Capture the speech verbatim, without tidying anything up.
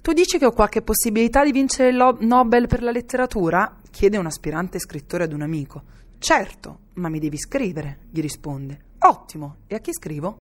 Tu dici che ho qualche possibilità di vincere il lo- Nobel per la letteratura? Chiede un aspirante scrittore ad un amico. Certo, ma mi devi scrivere, gli risponde. Ottimo, e a chi scrivo?